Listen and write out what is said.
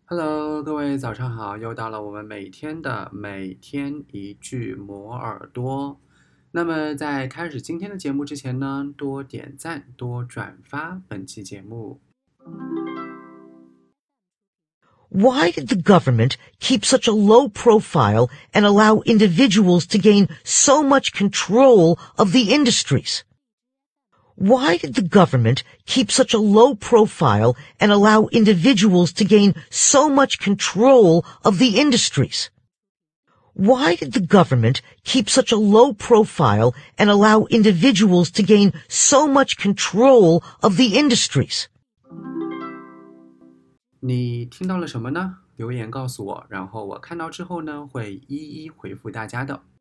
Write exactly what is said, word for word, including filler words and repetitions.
Hello，各位早上好，又到了我们每天的每天一句磨耳朵。那么在开始今天的节目之前呢，多点赞，多转发本期节目。 Why did the government keep such a low profile and allow individuals to gain so much control of the industries? Why did the government keep such a low profile and allow individuals to gain so much control of the industries? Why did the government keep such a low profile and allow individuals to gain so much control of the industries? 你听到了什么呢？留言告诉我，然后我看到之后呢，会一一回复大家的。